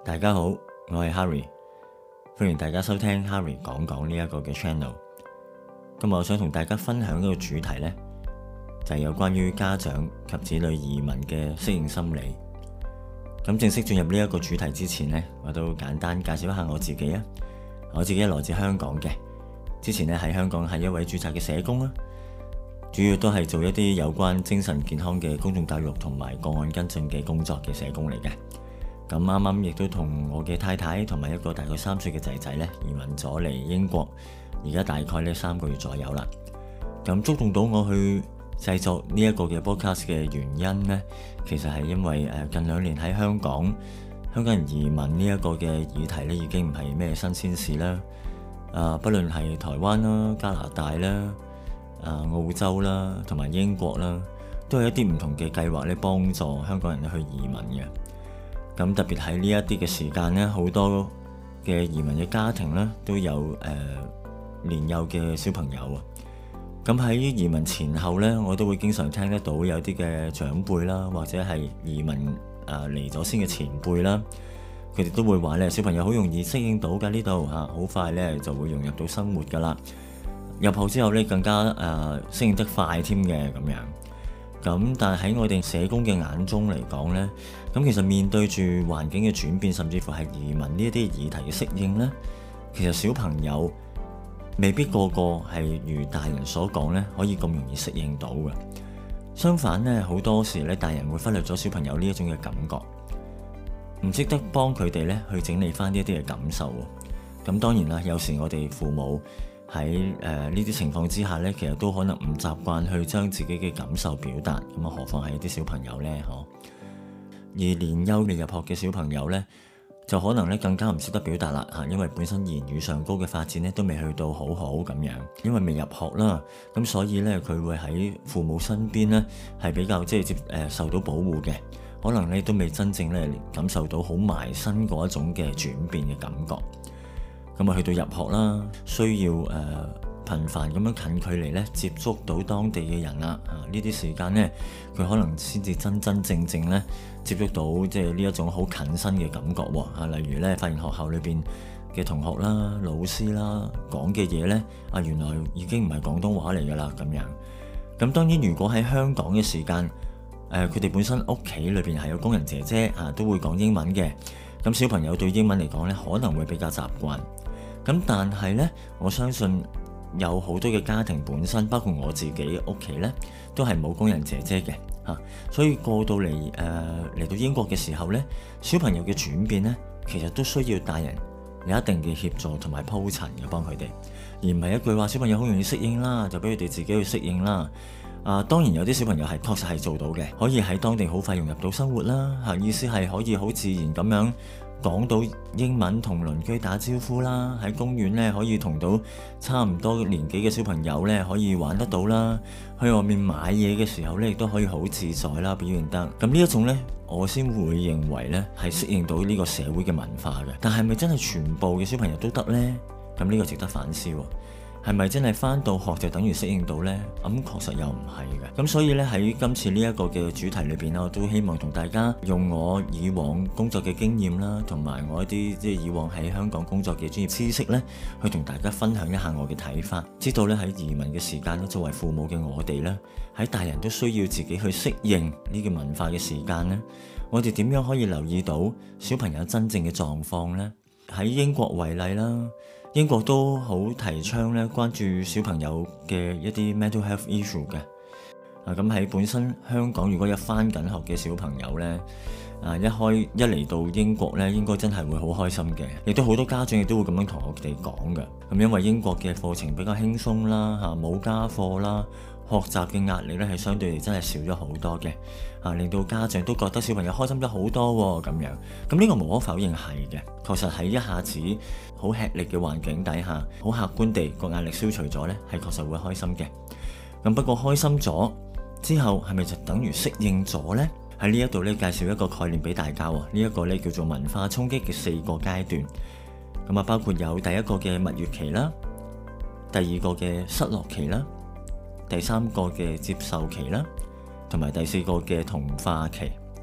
大家好，我係 Harry， 歡迎大家收聽 Harry 講講呢一個嘅 channel。今日我想同大家分享一個主題呢，就係有關於家長及子女移民嘅適應心理。咁正式進入呢一個主題之前呢，我都簡單介紹一下我自己啊。我自己來自香港嘅，之前呢喺香港係一位註冊嘅社工啦，主要都係做一啲有關精神健康嘅公眾教育同埋個案跟進嘅工作嘅社工嚟嘅。咁啱啱亦都同我嘅太太同埋一個大概3歲嘅仔仔呢移民咗嚟英國，而家大概呢3個月左右啦。咁觸動到我去製作呢一個嘅 podcast 嘅原因呢，其實係因為近2年喺香港人移民呢一個嘅議題呢已經唔係咩新鮮事啦。不論係台灣啦、加拿大啦、澳洲啦同埋英國啦，都有一啲唔同嘅計劃咧幫助香港人去移民嘅。咁特別喺呢一啲嘅時間呢，好多嘅移民嘅家庭呢都有年幼嘅小朋友啊。咁喺移民前後呢，我都會經常聽得到有啲嘅長輩啦，或者係移民嚟咗先嘅前輩啦，佢哋都會話咧，小朋友好容易適應到㗎，呢度好快咧就會融入到生活㗎啦。入學之後咧更加適應得快添嘅咁樣。咁但係喺我哋社工嘅眼中嚟講呢，咁其實面對住環境嘅轉變，甚至乎係移民呢一啲議題嘅適應呢，其實小朋友未必個個係如大人所講呢可以咁容易適應到嘅。相反呢，好多時呢大人會忽略咗小朋友呢一種嘅感覺，唔識得幫佢哋呢去整理翻呢一啲嘅感受。咁當然啦，有時我哋父母喺呢啲情況之下呢，其實都可能唔習慣去將自己嘅感受表達，咁何況係一啲小朋友呢？而年幼未入學嘅小朋友呢，就可能咧更加唔識得表達啦嚇，因為本身言語上高嘅發展咧都未去到好好咁樣，因為未入學啦，咁所以咧佢會喺父母身邊咧係比較受到保護嘅，可能咧都未真正咧感受到好埋身嗰一種嘅轉變嘅感覺。咁啊去到入學啦，需要頻繁咁樣近距離咧接觸到當地嘅人啦，呢啲時間呢，佢可能先至真正咧接觸到呢一種好近身嘅感覺喎。例如咧發現學校裏邊嘅同學啦、老師啦講嘅嘢呢，原來已經唔係廣東話嚟噶啦咁樣。咁當然如果喺香港嘅時間，佢哋本身屋企裏邊係有工人姐姐都會講英文嘅，咁小朋友對英文嚟講呢，可能會比較習慣。咁但係呢，我相信有好多嘅家庭本身，包括我自己屋企呢，都係冇工人姐姐嘅嚇，所以過到嚟到英國嘅時候呢，小朋友嘅轉變呢，其實都需要大人有一定嘅協助同埋鋪陳嘅幫佢哋，而唔係一句話小朋友好容易適應啦，就俾佢哋自己去適應啦。當然有啲小朋友係確實係做到嘅，可以喺當地好快融入到生活啦嚇，意思係可以好自然咁樣講到英文同鄰居打招呼啦，喺公園咧可以同到差唔多年紀嘅小朋友咧可以玩得到啦，去外面買嘢嘅時候咧亦都可以好自在啦，表現得咁呢一種咧，我先會認為咧係適應到呢個社會嘅文化嘅。但係咪真係全部嘅小朋友都得呢？咁呢個值得反思喎。係咪真係返到學就等於適應到呢？咁確實又唔係嘅。咁所以呢，喺今次呢一個嘅主題裏邊，我都希望同大家用我以往工作嘅經驗啦，同埋我一啲以往喺香港工作嘅專業知識呢，去同大家分享一下我嘅睇法。知道呢，喺移民嘅時間呢，作為父母嘅我哋呢，喺大人都需要自己去適應呢個文化嘅時間呢，我哋點樣可以留意到小朋友真正嘅狀況呢？喺英國為例啦。英國都好提倡咧，關注小朋友嘅一啲 mental health issue 嘅。咁喺本身香港，如果有返緊學嘅小朋友咧，一嚟到英國咧，應該真係會好開心嘅。亦都好多家長亦都會咁樣同我哋講嘅。咁因為英國嘅課程比較輕鬆啦，冇家課啦，學習嘅壓力咧係相對嚟真係少咗好多嘅。令到家長都覺得小朋友開心咗好多咁樣。咁呢個無可否認係嘅，確實喺一下子好吃力嘅環境底下，好客觀地個壓力消除咗呢，係確實會開心嘅。咁不過開心咗之後，係咪就等於適應咗呢？喺呢一度呢，介紹一個概念俾大家。呢一個呢叫做文化衝擊嘅4個階段。咁包括有第一個嘅蜜月期啦，第二個嘅失落期啦，第3個嘅接受期啦，同埋第4個嘅同化期。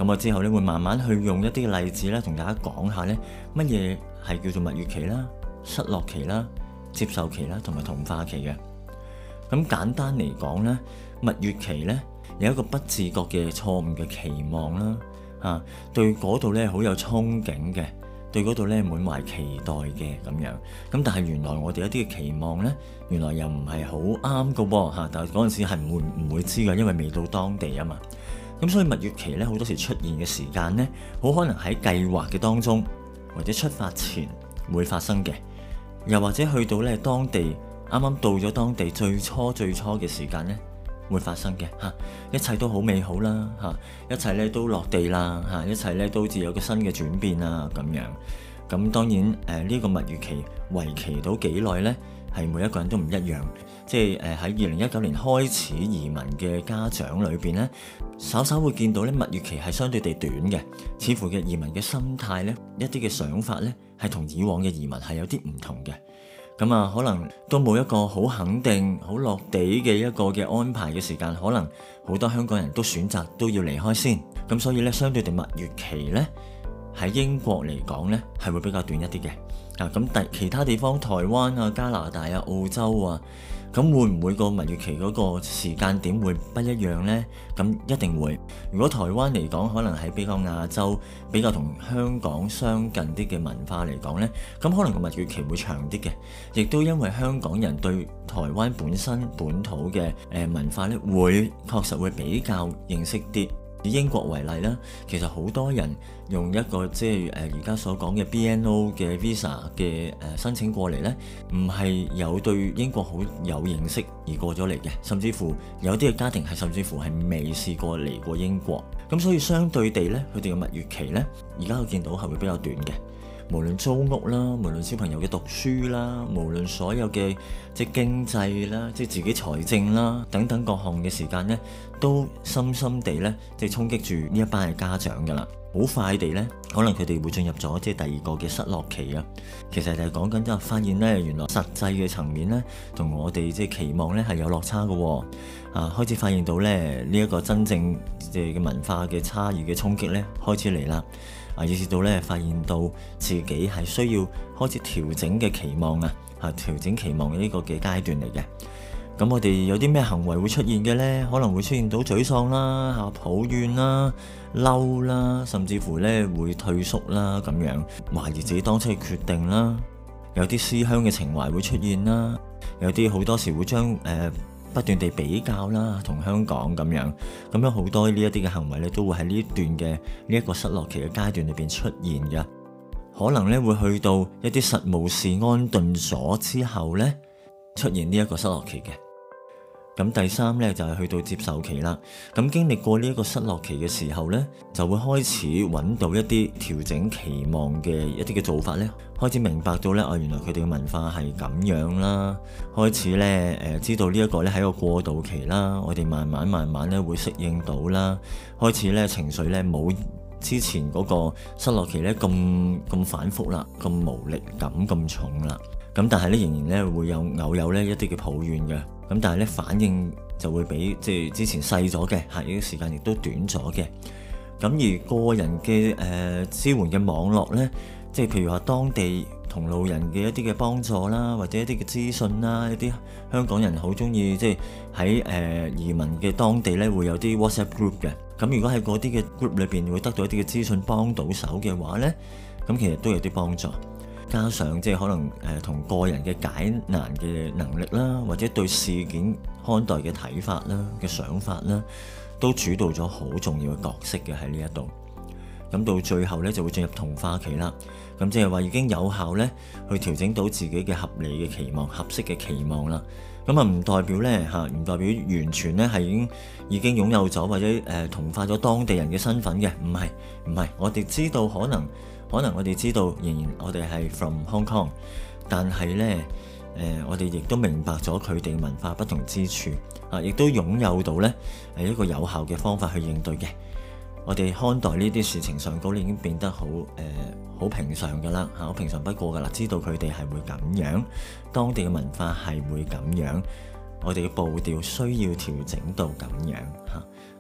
咁我之後咧會慢慢去用一啲例子咧，同大家講下咧乜嘢係叫做蜜月期啦、失落期啦、接受期啦同埋同化期嘅。咁簡單嚟講咧，蜜月期咧有一個不自覺嘅錯誤嘅期望啦，對嗰度咧好有憧憬嘅，對嗰度咧滿懷期待嘅咁樣。咁但係原來我哋一啲嘅期望咧，原來又唔係好啱㗎喎，但係嗰陣時係唔會知㗎，因為未到當地啊嘛。咁所以蜜月期咧好多時出現嘅時間咧，好可能喺計劃嘅當中，或者出發前會發生嘅，又或者去到咧當地啱啱到咗當地最初嘅時間咧會發生嘅嚇，一切都好美好啦嚇，一切咧都落地啦嚇，一切咧都好似有個新嘅轉變啊咁樣。咁當然呢個蜜月期為期到幾耐咧，係每一個人都唔一樣。即係喺2019年開始移民嘅家長裏邊咧，稍稍會見到咧蜜月期係相對地短嘅，似乎嘅移民嘅心態咧，一啲嘅想法咧係同以往嘅移民係有啲唔同嘅。咁啊，可能都冇一個好肯定、好落地嘅一個嘅安排嘅時間，可能好多香港人都選擇都要離開先。咁所以咧，相對地蜜月期咧喺英國嚟講咧係會比較短一啲嘅。咁其他地方，台灣啊、加拿大啊、澳洲啊，咁會唔會個蜜月期嗰個時間點會不一樣呢？咁一定會。如果台灣嚟講，可能係比較亞洲、比較同香港相近啲嘅文化嚟講呢，咁可能個蜜月期會長啲嘅。亦都因為香港人對台灣本土嘅文化呢，確實會比較認識啲。以英國為例啦，其實好多人用一個即係而家所講嘅 BNO 嘅 Visa 嘅申請過嚟呢，唔係有對英國好有認識而過咗嚟嘅，甚至乎有啲嘅家庭係甚至乎係未試過嚟過英國。咁所以相對地呢，佢哋嘅蜜月期呢，而家我見到係會比較短嘅。無論租屋啦，無論小朋友嘅讀書啦，無論所有嘅即係經濟啦，即係自己財政啦等等各項嘅時間呢，都深深地呢，即係衝擊住呢一班嘅家長㗎啦。好快地呢，可能佢哋會進入咗即係第二個嘅失落期啊。其實就係講緊即係發現呢，原來實際嘅層面呢，同我哋即係期望呢係有落差嘅。開始發現到呢，呢一個真正嘅文化嘅差異嘅衝擊呢，開始嚟啦。以至到咧，發現到自己係需要開始調整嘅期望啊，調整期望嘅呢個嘅階段嚟嘅。咁我哋有啲咩行為會出現嘅呢？可能會出現到沮喪啦、抱怨啦、嬲啦，甚至乎咧會退縮啦，咁樣懷疑自己當初嘅決定啦。有啲思鄉嘅情懷會出現啦，有啲好多時會將不斷地比較啦，同香港咁樣好多呢一啲嘅行為咧，都會喺呢段嘅呢一個失落期嘅階段裏邊出現嘅。可能咧會去到一啲實務事安頓咗之後咧，出現呢一個失落期嘅。咁第三咧就係去到接受期啦。咁經歷過呢一個失落期嘅時候咧，就會開始揾到一啲調整期望嘅一啲嘅做法咧，開始明白到咧，原來佢哋嘅文化係咁樣啦。開始咧知道呢一個咧係一個過渡期啦，我哋慢慢咧會適應到啦。開始咧情緒咧冇之前嗰個失落期咧咁反覆啦，咁無力感咁重啦。咁但係咧仍然咧會偶有咧一啲嘅抱怨嘅。咁但係咧反應就會比即係之前細咗嘅，呢個時間亦都短咗嘅。咁而個人嘅支援嘅網絡咧，即係譬如話當地同路人嘅一啲嘅幫助啦，或者一啲嘅資訊啦，一啲香港人好中意即係喺移民嘅當地咧會有啲 WhatsApp group 嘅。咁如果喺嗰啲嘅 group 裏邊會得到一啲嘅資訊幫到手嘅話咧，咁其實都有啲幫助。加上即係可能同個人嘅解難嘅能力啦，或者對事件看待嘅睇法啦、嘅想法啦，都主導咗好重要嘅角色嘅喺呢一度。咁到最後咧就會進入同化期啦。咁即係話已經有效咧去調整到自己嘅合理嘅期望、合適嘅期望啦。咁唔代表咧唔代表完全咧係已經擁有咗或者同化咗當地人嘅身份嘅，唔係。我哋知道可能我哋知道仍然我哋係 from Hong Kong， 但係呢，我哋亦都明白咗佢哋文化不同之處，亦都擁有到呢一個有效嘅方法去應對嘅。我哋看待呢啲事情上高已經變得好平常噶啦，好平常不過噶啦，知道佢哋係會咁樣，當地嘅文化係會咁樣，我哋嘅步調需要調整到咁樣嚇。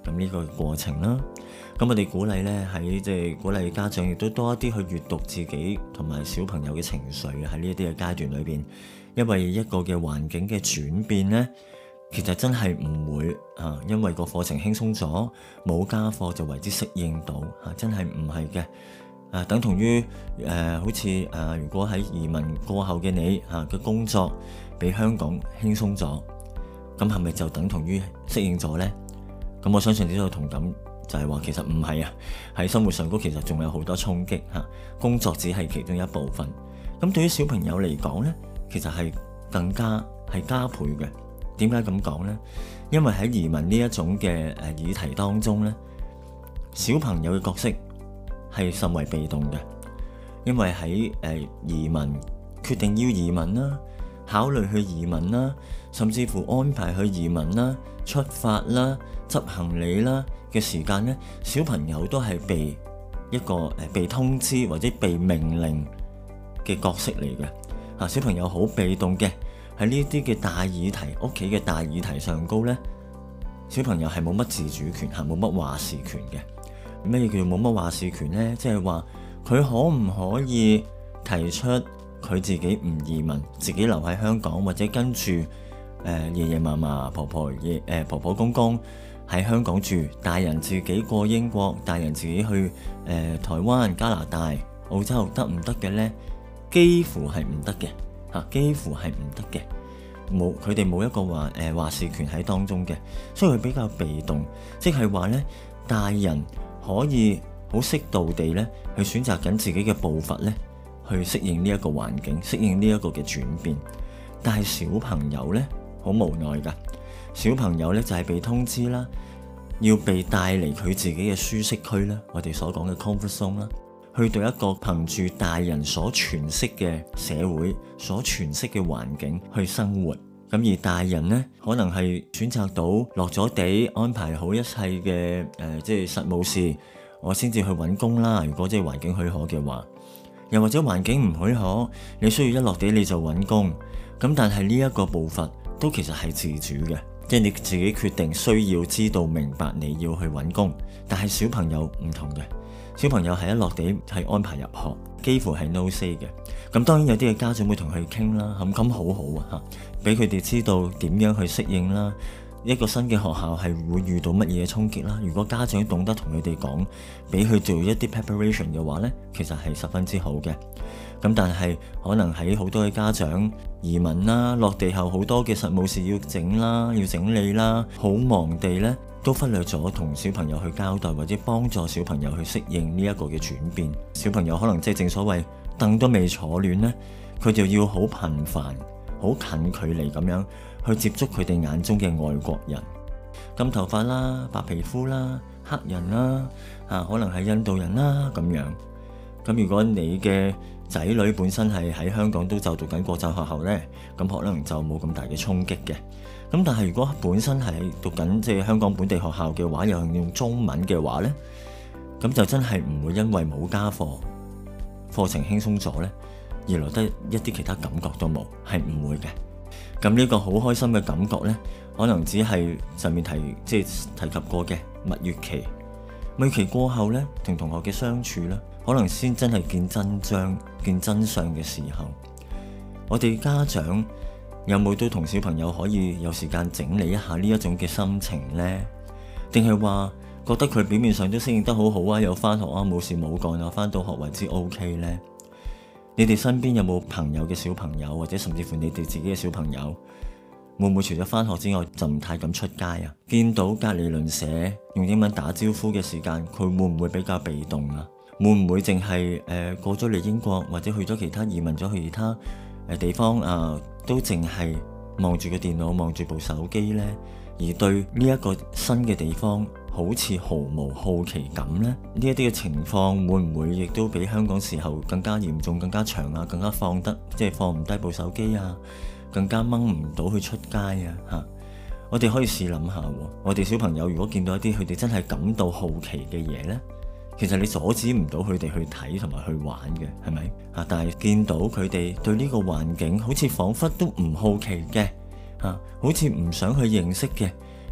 咁呢個過程啦。咁我哋鼓勵呢，喺即係鼓勵家長亦都多一啲去閱讀自己同埋小朋友嘅情緒喺呢一啲嘅階段裏邊，因為一個嘅環境嘅轉變呢，其實真係唔會因為個課程輕鬆咗，冇家課就為之適應到真係唔係嘅。等同於好似如果喺移民過後嘅你嘅工作比香港輕鬆咗，咁係咪就等同於適應咗呢？咁我相信你都有同感。就係話其實唔係喺生活上高其實仲有好多衝擊工作只係其中一部分。咁對於小朋友嚟講呢，其實係更加係加倍嘅。點解咁講呢？因為喺移民呢一種嘅議題當中呢，小朋友嘅角色係甚為被動嘅，因為喺移民決定要移民啦，考慮去移民啦，甚至乎安排去移民啦、出發啦、執行李啦嘅時間呢，小朋友都係被一個被通知或者被命令嘅角色嚟嘅。小朋友好被動嘅，喺呢啲嘅大議題、屋企嘅大議題上高呢，小朋友係冇乜自主權，係冇乜話事權嘅。咩叫冇乜話事權呢？即係話佢可唔可以提出佢自己唔移民，自己留喺香港，或者跟住爺爺嫲嫲、婆婆公公喺香港住，大人自己過英國，大人自己去台灣、加拿大、澳洲得唔得嘅呢？幾乎係唔得嘅，幾乎係唔得嘅。佢哋冇一個話事權喺當中嘅，所以佢比較被動。即係話呢，大人可以好適度地呢去選擇緊自己嘅步伐呢，去適應呢一個環境，適應呢一個嘅轉變。但係小朋友呢，好無奈噶。小朋友呢，就係被通知啦，要被帶離佢自己嘅舒適區啦，我哋所講嘅 comfort zone 啦，去到一個憑住大人所詮釋嘅社會、所詮釋嘅環境去生活。咁而大人呢，可能係選擇到落咗地安排好一切嘅即係實務事，我先至去揾工啦。如果即係環境許可嘅話，又或者環境唔許可，你需要一落地你就揾工。咁但係呢一個步伐都其實係自主嘅。即係你自己決定，需要知道明白你要去揾工。但係小朋友唔同嘅，小朋友係一落地係安排入學，幾乎係 no say 嘅。咁當然有啲嘅家長會同佢傾啦，咁好好啊，俾佢哋知道點樣去適應啦。一個新嘅學校係會遇到乜嘢衝擊啦。如果家長懂得同佢哋講，俾佢做一啲 preparation 嘅話呢，其實係十分之好嘅。咁但係可能喺好多嘅家長移民啦，落地後好多嘅實務事要整啦，要整理啦，好忙地呢都忽略咗同小朋友去交代，或者幫助小朋友去適應呢一個嘅轉變。小朋友可能即係正所謂凳都未坐暖呢，佢就要好頻繁、好近距離咁樣去接觸佢哋眼中嘅外國人，金頭髮啦、白皮膚啦、黑人啦，可能係印度人啦咁樣。咁如果你嘅仔女本身係喺香港都就讀緊國際學校呢，咁可能就冇咁大嘅衝擊嘅。咁但係如果本身係讀緊即係香港本地學校嘅話，又用中文嘅話呢，咁就真係唔會因為冇家課，課程輕鬆咗呢，而來得一啲其他感覺都冇，係唔會嘅。咁呢個好開心嘅感覺呢，可能只係上面提及過嘅蜜月期。蜜月期過後呢，同同學嘅相處呢，可能先真係見真章、見真相嘅時候，我哋家長有冇都同小朋友可以有時間整理一下呢一種嘅心情呢？定係話覺得佢表面上都適應得好好啊，有返學啊，冇事冇幹啊，返到學為之 OK 呢？你哋身邊有冇朋友嘅小朋友，或者甚至乎你哋自己嘅小朋友，會唔會除咗返學之外就唔太敢出街啊？見到隔離鄰舍用英文打招呼嘅時間，佢會唔會比較被動啊？會唔會淨係過咗嚟英國，或者去咗其他移民咗去其他地方都淨係望住個電腦，望住部手機呢？而對呢一個新嘅地方好似毫無好奇感呢？呢一啲嘅情況會唔會亦都比香港時候更加嚴重、更加長啊？更加放唔低部手機啊？更加掹唔到去出街啊？我哋可以試諗下，我哋小朋友如果見到一啲佢哋真係感到好奇嘅嘢呢，其實你阻止唔到佢哋去睇同埋去玩嘅，係咪？但係見到佢哋對呢個環境好似彷彿都唔好奇嘅，好似唔想去認識嘅，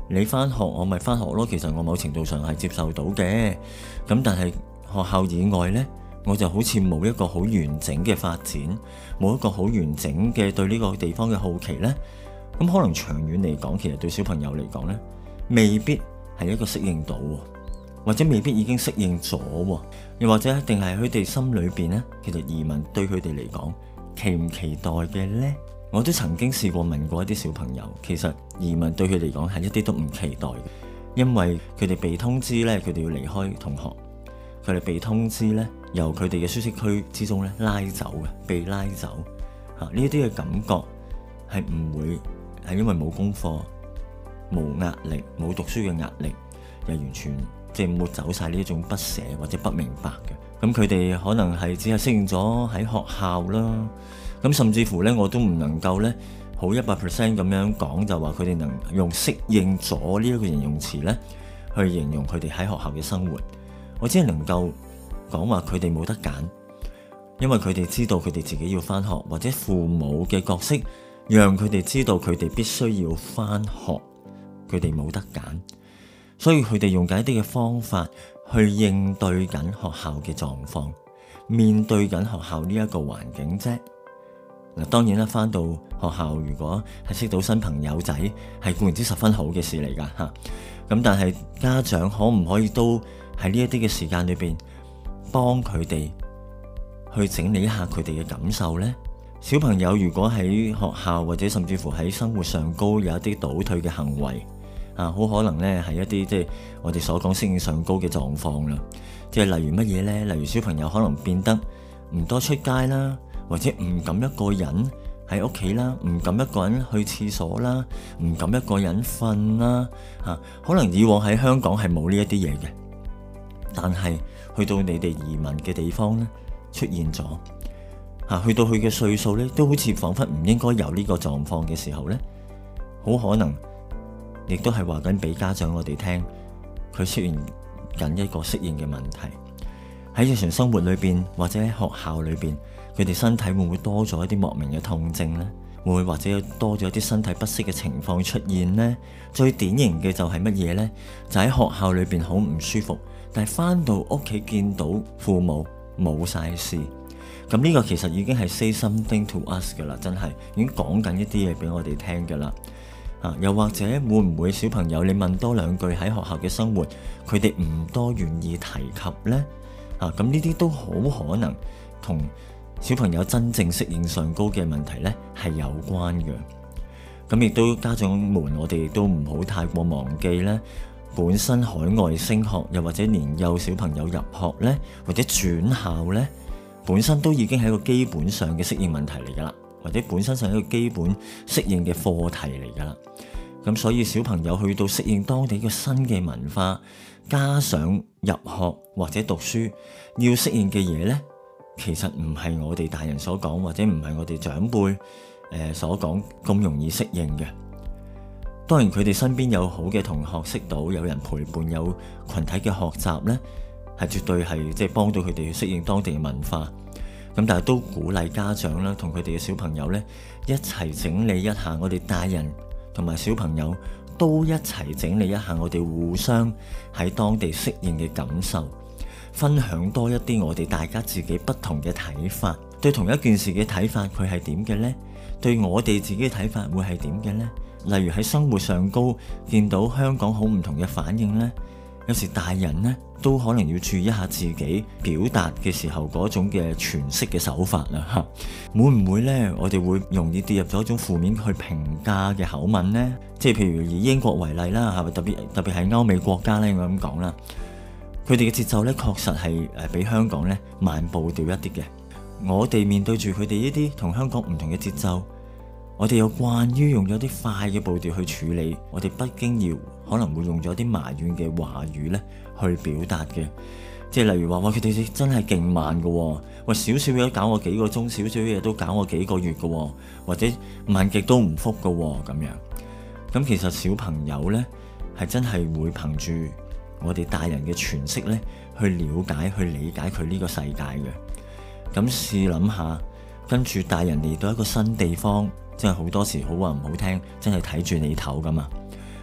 你返學我咪返學咯，其實我某程度上係接受到嘅。咁但係學校以外呢，我就好似冇一個好完整嘅發展，冇一個好完整嘅對呢個地方嘅好奇呢。咁可能長遠嚟講，其實對小朋友嚟講呢，未必係一個適應到，或者未必已經適應咗，又或者一定係佢哋心裏邊呢，其實移民對佢哋嚟講期唔期待嘅呢？我都曾經試過問過一啲小朋友，其實移民對佢嚟講係一啲都唔期待嘅，因為佢哋被通知呢，佢哋要離開同學，佢哋被通知呢，由佢哋嘅舒適區之中呢拉走嘅，被拉走嚇，呢啲嘅感覺係唔會係因為冇功課、冇壓力、冇讀書嘅壓力，又完全即係抹走晒呢一種不捨或者不明白嘅。咁佢哋可能係只係適應咗喺學校啦。咁甚至乎咧，我都唔能夠咧好100% 咁樣講，就話佢哋能用適應咗呢一個形容詞咧去形容佢哋喺學校嘅生活。我只係能夠講話佢哋冇得揀，因為佢哋知道佢哋自己要返學，或者父母嘅角色讓佢哋知道佢哋必須要返學，佢哋冇得揀，所以佢哋用緊一啲嘅方法去應對緊學校嘅狀況，面對緊學校呢一個環境啫。嗱，當然啦，返到學校如果係識到新朋友仔，係固然之十分好嘅事嚟㗎嚇。咁但係家長可唔可以都喺呢一啲嘅時間裏邊幫佢哋去整理一下佢哋嘅感受呢？小朋友如果喺學校或者甚至乎喺生活上高有一啲倒退嘅行為啊，好可能呢係一啲即係我哋所講適應上高嘅狀況啦。即係例如乜嘢呢？例如小朋友可能變得唔多出街啦，或者唔敢一個人喺屋企啦，唔敢一個人去廁所啦，唔敢一個人瞓啦嚇。可能以往喺香港係冇呢一啲嘢嘅，但係去到你哋移民嘅地方咧，出現咗嚇。去到佢嘅歲數咧，都好似彷彿唔應該有呢個狀況嘅時候咧，好可能亦都係話緊俾家長我哋聽，佢出現緊一個適應嘅問題。喺日常生活裏邊或者喺學校裏邊，佢哋身體會唔會多咗一啲莫名嘅痛症呢？會唔會或者多咗一啲身體不適嘅情況出現呢？最典型嘅就係乜嘢呢？就喺學校裏邊好唔舒服，但係翻到屋企見到父母冇晒事，咁呢個其實已經係 say something to us 噶啦，真係已經講緊一啲嘢俾我哋聽噶啦。又或者會唔會小朋友你問多兩句喺學校嘅生活，佢哋唔多願意提及呢？咁呢啲都好可能同小朋友真正適應上高嘅問題呢係有關嘅。咁亦都家長們，我哋亦都唔好太過忘記呢，本身海外升學又或者年幼小朋友入學呢，或者轉校呢，本身都已經係一個基本上嘅適應問題嚟噶啦，或者本身上係一個基本適應嘅課題嚟噶啦。咁所以小朋友去到適應當地嘅新嘅文化，加上入學或者讀書要適應嘅嘢呢，其實唔係我哋大人所講，或者唔係我哋長輩所講咁容易適應嘅。當然佢哋身邊有好嘅同學識到，有人陪伴，有群體嘅學習呢，係絕對係即係幫到佢哋去適應當地嘅文化。咁但係都鼓勵家長啦，同佢哋嘅小朋友呢，一齊整理一下我哋大人同埋小朋友都一齊整理一下我哋互相喺當地適應嘅感受，分享多一啲我哋大家自己不同嘅睇法，對同一件事嘅睇法佢係點嘅呢？對我哋自己嘅睇法會係點嘅呢？例如喺生活上高見到香港好唔同嘅反應呢，有時大人呢都可能要注意一下自己表達嘅時候嗰種嘅詮釋嘅手法啦嚇。會唔會呢？我哋會容易跌入咗一種負面去評價嘅口吻呢？即係譬如以英國為例啦，係咪特別係歐美國家呢？我咁講啦，佢哋嘅節奏呢確實係比香港呢慢步調一啲嘅。我哋面對住佢哋呢啲同香港唔同嘅節奏，我哋又慣於用咗啲快嘅步調去處理，我哋不經意可能會用咗啲埋怨嘅話語咧去表達嘅。即係例如話，哇，佢哋真係勁慢嘅，哇，少少嘢都搞我幾個鐘，少少嘢都搞我幾個月嘅，或者慢極都唔復嘅咁樣。咁其實小朋友咧係真係會憑住我哋大人嘅詮釋咧去了解、去理解佢呢個世界嘅。咁試諗下，跟住大人嚟到一個新地方，真係好多時好話唔好聽，真係睇住你頭噶嘛。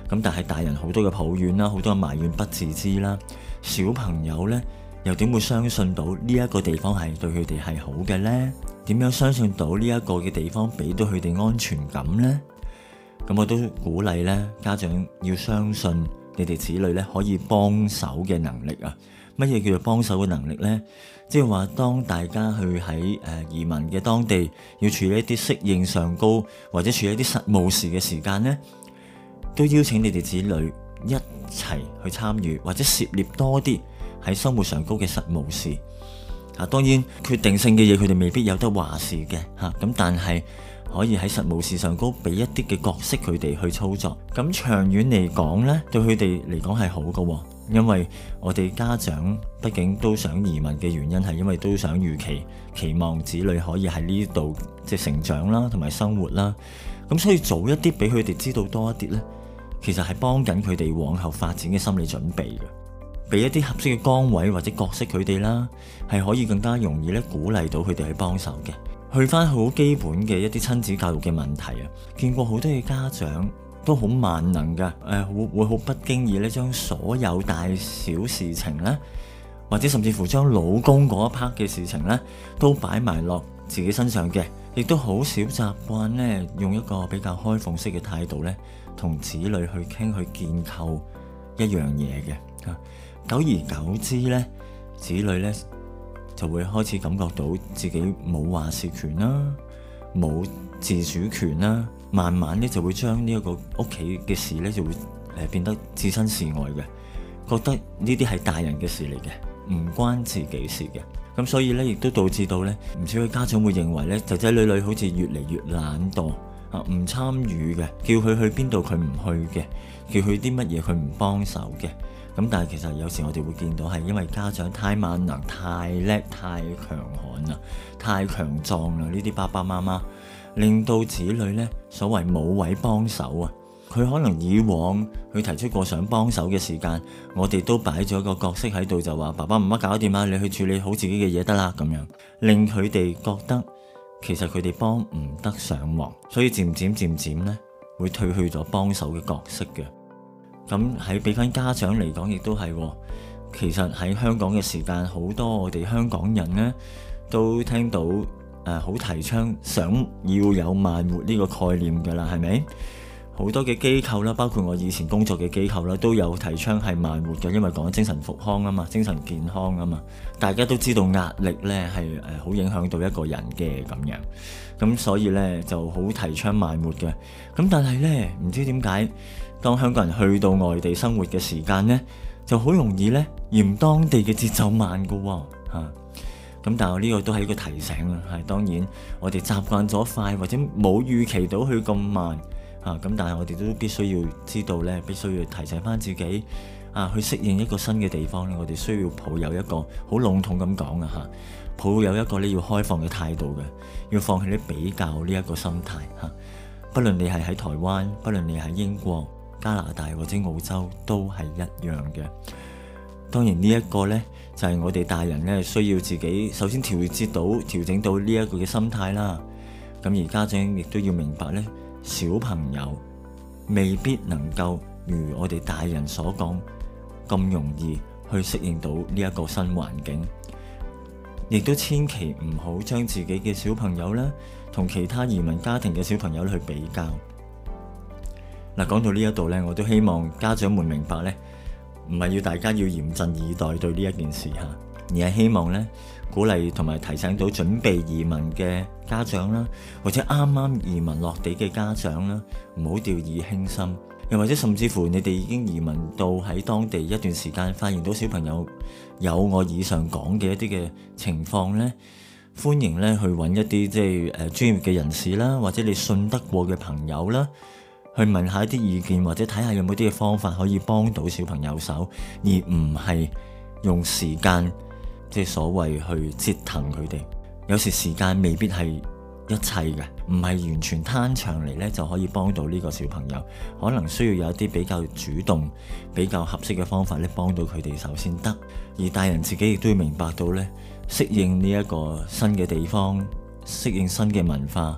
咁但係大人好多嘅抱怨啦，好多嘅埋怨不自知啦，小朋友呢，又點會相信到呢一個地方係對佢哋係好嘅呢？點樣相信到呢一個嘅地方俾到佢哋安全感呢？咁我都鼓勵呢，家長要相信你哋子女呢可以幫手嘅能力啊！乜嘢叫做幫手嘅能力呢？即係話當大家去喺移民嘅當地要處理一啲適應上高或者處理一啲實務事嘅時間呢，都邀請你哋子女一齊去參與或者涉獵多啲喺生活上高嘅實務事。當然決定性嘅嘢佢哋未必有得話事嘅咁，但係可以喺實務事上高俾一啲嘅角色佢哋去操作。咁長遠嚟講呢，對佢哋嚟講係好嘅，因為我哋家長畢竟都想移民嘅原因係因為都想預期望子女可以喺呢度即係成長啦，同埋生活啦。咁所以早一啲俾佢哋知道多一啲呢，其實係幫緊佢哋往後發展嘅心理準備嘅。俾一啲合適嘅崗位或者角色佢哋啦，係可以更加容易咧鼓勵到佢哋去幫手嘅。去翻好基本嘅一啲親子教育嘅問題啊，見過好多嘅家長都好萬能噶，會好不經意咧將所有大小事情咧，或者甚至乎將老公嗰一 part 嘅事情咧，都擺埋落自己身上嘅，亦都好少習慣咧用一個比較開放式嘅態度咧，同子女去傾去建構一樣嘢嘅。久而久之咧，子女咧就會開始感覺到自己冇話事權啦，冇自主權啦，慢慢咧就會將呢一個屋企嘅事咧就會變得置身事外嘅，覺得呢啲係大人嘅事嚟嘅，唔關自己事嘅。咁所以咧亦都導致到咧唔少嘅家長會認為咧仔仔女女好似越嚟越懶惰唔參與嘅，叫佢去邊度佢唔去嘅，叫佢啲乜嘢佢唔幫手嘅。咁但係其實有時我哋會見到係因為家長太萬能、太叻、太強悍啦、太強壯啦，呢啲爸爸媽媽令到子女呢所謂冇位幫手啊。佢可能以往佢提出過想幫手嘅時間，我哋都擺咗個角色喺度，就話爸爸媽媽搞掂啦，你去處理好自己嘅嘢得啦，咁樣令佢哋覺得其實佢哋幫唔得上忙，所以漸漸呢會退去咗幫手嘅角色嘅。咁喺俾翻家長嚟講，亦都係，其實喺香港嘅時間，好多我哋香港人呢都聽到好提倡想要有慢活呢個概念㗎啦，係咪？好多嘅機構啦，包括我以前工作嘅機構啦，都有提倡係慢活嘅，因為講精神復康啊嘛，精神健康啊嘛。大家都知道壓力呢係好影響到一個人嘅咁樣，咁所以呢就好提倡慢活嘅。咁但係呢，唔知點解，當香港人去到外地生活嘅時間呢，就好容易呢嫌當地嘅節奏慢㗎喎。咁但係呢個都係一個提醒啦，係當然我哋習慣咗快或者冇預期到佢咁慢。咁但係我哋都必須要知道咧，必須要提醒翻自己去適應一個新嘅地方咧，我哋需要抱有一個好籠統咁講啊，抱有一個你要開放嘅態度嘅，要放棄你比較呢一個心態。不論你係喺台灣，不論你喺英國、加拿大或者澳洲，都係一樣嘅。當然呢一個呢，就係我哋大人呢需要自己首先調整到呢一個嘅心態啦。咁而家長亦都要明白呢，小朋友未必能夠如我哋大人所講咁容易去適應到呢一個新環境，亦都千祈唔好將自己嘅小朋友呢同其他移民家庭嘅小朋友去比較。講到呢一度呢，我都希望家長們明白呢，唔係要大家要嚴陣以待對呢一件事吓，而係希望呢鼓勵同埋提醒到準備移民嘅家長啦，或者啱啱移民落地嘅家長啦，唔好掉以輕心。又或者甚至乎你哋已經移民到喺當地一段時間，發現到小朋友有我以上講嘅一啲嘅情況呢，歡迎呢去揾一啲即係專業嘅人士啦，或者你信得過嘅朋友啦，去問下一啲意見，或者睇下有冇啲嘅方法可以幫到小朋友手，而唔係用時間即係所謂去折騰佢哋。有時時間未必係一切嘅，唔係完全攤長嚟呢就可以幫到呢個小朋友，可能需要有一啲比較主動、比較合適嘅方法咧，幫到佢哋手先得。而大人自己亦都要明白到呢，適應呢一個新嘅地方，適應新嘅文化，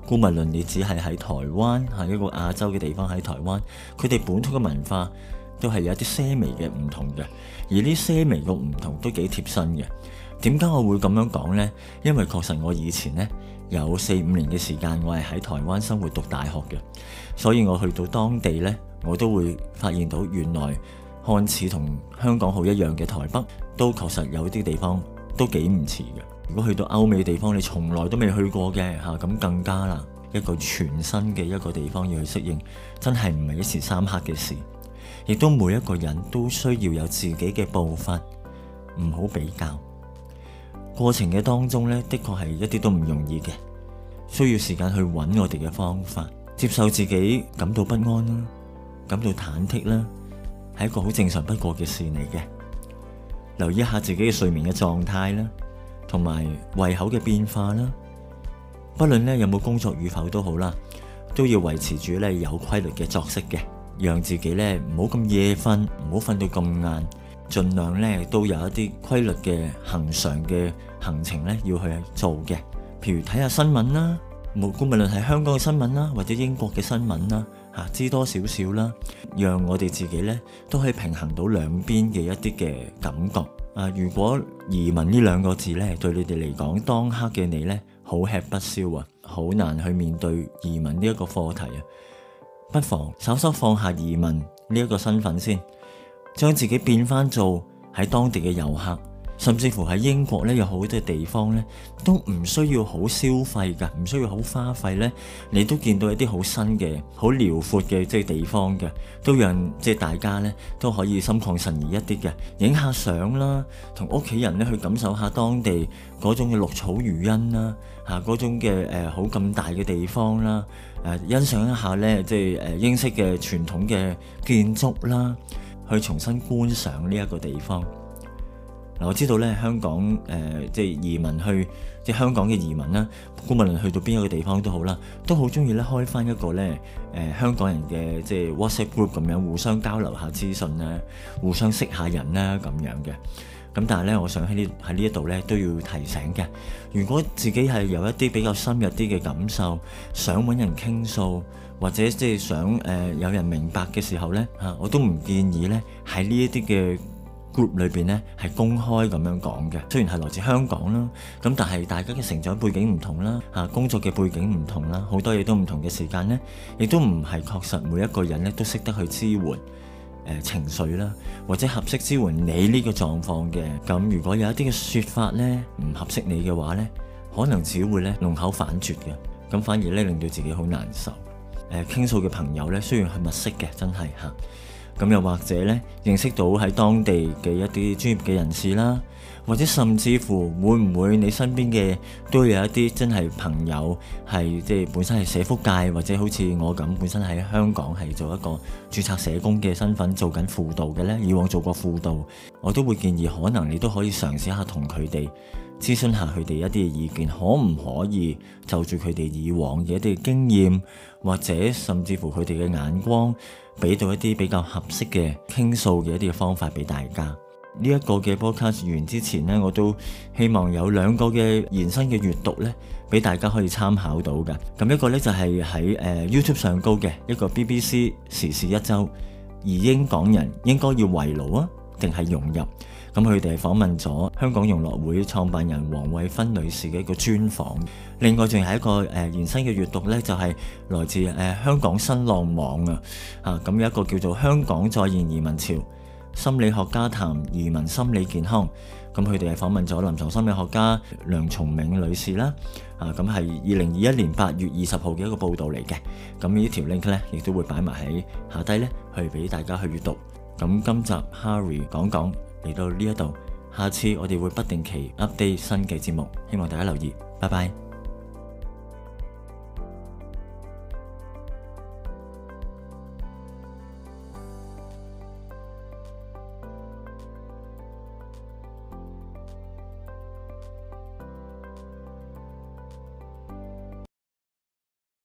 姑勿論你只係喺台灣，係一個亞洲嘅地方喺台灣，佢哋本土嘅文化都係有一啲些微嘅唔同嘅，而呢些微嘅唔同都幾貼身嘅。點解我會咁樣講呢？因為確實我以前呢有4-5年嘅時間，我係喺台灣生活讀大學嘅，所以我去到當地呢，我都會發現到原來看似同香港好一樣嘅台北，都確實有啲地方都幾唔似嘅。如果去到歐美地方，你從來都未去過嘅嚇，咁更加啦，一個全新嘅一個地方要去適應，真係唔係一時三刻嘅事。亦都每一個人都需要有自己嘅步伐，唔好比較。過程嘅當中呢，的確係一啲都唔容易嘅，需要時間去揾我哋嘅方法，接受自己感到不安啦，感到忐忑啦，係一個好正常不過嘅事嚟嘅。留意一下自己嘅睡眠嘅狀態啦，同埋胃口嘅變化啦。不論呢有冇工作與否都好啦，都要維持住呢有規律嘅作息嘅，讓自己呢唔好咁夜瞓，唔好瞓到咁晏。盡量咧都有一啲規律嘅恆常嘅行程咧要去做嘅，譬如睇下新聞啦，無論係香港嘅新聞啦，或者英國嘅新聞啦，知多少少啦，讓我哋自己咧都可以平衡到兩邊嘅一啲嘅感覺。如果移民呢兩個字咧對你哋嚟講，當刻嘅你咧好吃不消啊，好難去面對移民呢一個課題啊，不妨稍稍放下移民呢一個身份先。將自己變翻做喺當地嘅遊客，甚至乎喺英國咧有好多地方咧都唔需要好消費噶，唔需要好花費咧，你都見到一啲好新嘅、好遼闊嘅即係地方嘅，都讓即係大家咧都可以心曠神怡一啲嘅，影下相啦，同屋企人咧去感受下當地嗰種嘅綠草如茵啦，嗰種嘅好咁大嘅地方啦，欣賞一下咧即係英式嘅傳統嘅建築啦。去重新觀賞呢一個地方。我知道咧香港即係移民去即係香港嘅移民啦，無論去到邊一個地方都好啦，都好中意咧開翻一個咧香港人嘅即係 WhatsApp group 咁樣，互相交流下資訊啦，互相識下人啦咁樣嘅。咁但係咧，我想喺呢一度咧都要提醒嘅，如果自己係有一啲比較深入啲嘅感受，想揾人傾訴，或者即係想有人明白嘅時候咧我都唔建議咧喺呢一啲嘅 group 裏邊咧係公開咁樣講嘅。雖然係來自香港啦，咁但係大家嘅成長背景唔同啦，工作嘅背景唔同啦，好多嘢都唔同嘅時間咧，亦都唔係確實每一個人咧都識得去支援情緒啦，或者合適支援你呢個狀況嘅。咁如果有一啲嘅說法咧唔合適你嘅話咧，可能只會咧弄巧反拙嘅，咁反而咧令到自己好難受。傾訴嘅朋友咧，雖然係密識嘅，真係咁又或者咧認識到喺當地嘅一啲專業嘅人士啦，或者甚至乎會唔會你身邊嘅都有一啲真係朋友係即係本身係社福界，或者好似我咁本身喺香港係做一個註冊社工嘅身份做緊輔導嘅咧，以往做過輔導，我都會建議可能你都可以嘗試下同佢哋諮詢下佢哋一啲嘅意見，可唔可以就住佢哋以往嘅一啲經驗，或者甚至乎佢哋嘅眼光，俾到一啲比較合適嘅傾訴嘅一啲嘅方法俾大家。呢一個嘅 podcast 完之前呢，我都希望有2個嘅延伸嘅閱讀呢，俾大家可以參考到嘅。咁一個呢，就係喺YouTube 上高嘅一個 BBC 時事一周，移英港人應該要圍爐啊，定係融入？咁佢哋係訪問咗香港融樂會創辦人黃惠芬女士嘅一個專訪。另外仲係一個延伸嘅閱讀呢，就係來自香港新浪網咁有一個叫做香港再現移民潮，心理學家談移民心理健康。咁佢哋係訪問咗臨床心理學家梁松銘女士啦。咁係2021年8月20號嘅一個報導嚟嘅。咁呢條 link 呢，亦都會擺埋喺下低呢，去俾大家去閱讀。咁今集 Harry 講嚟到呢一度，下次我哋會不定期 update 新嘅節目，希望大家留意。拜拜。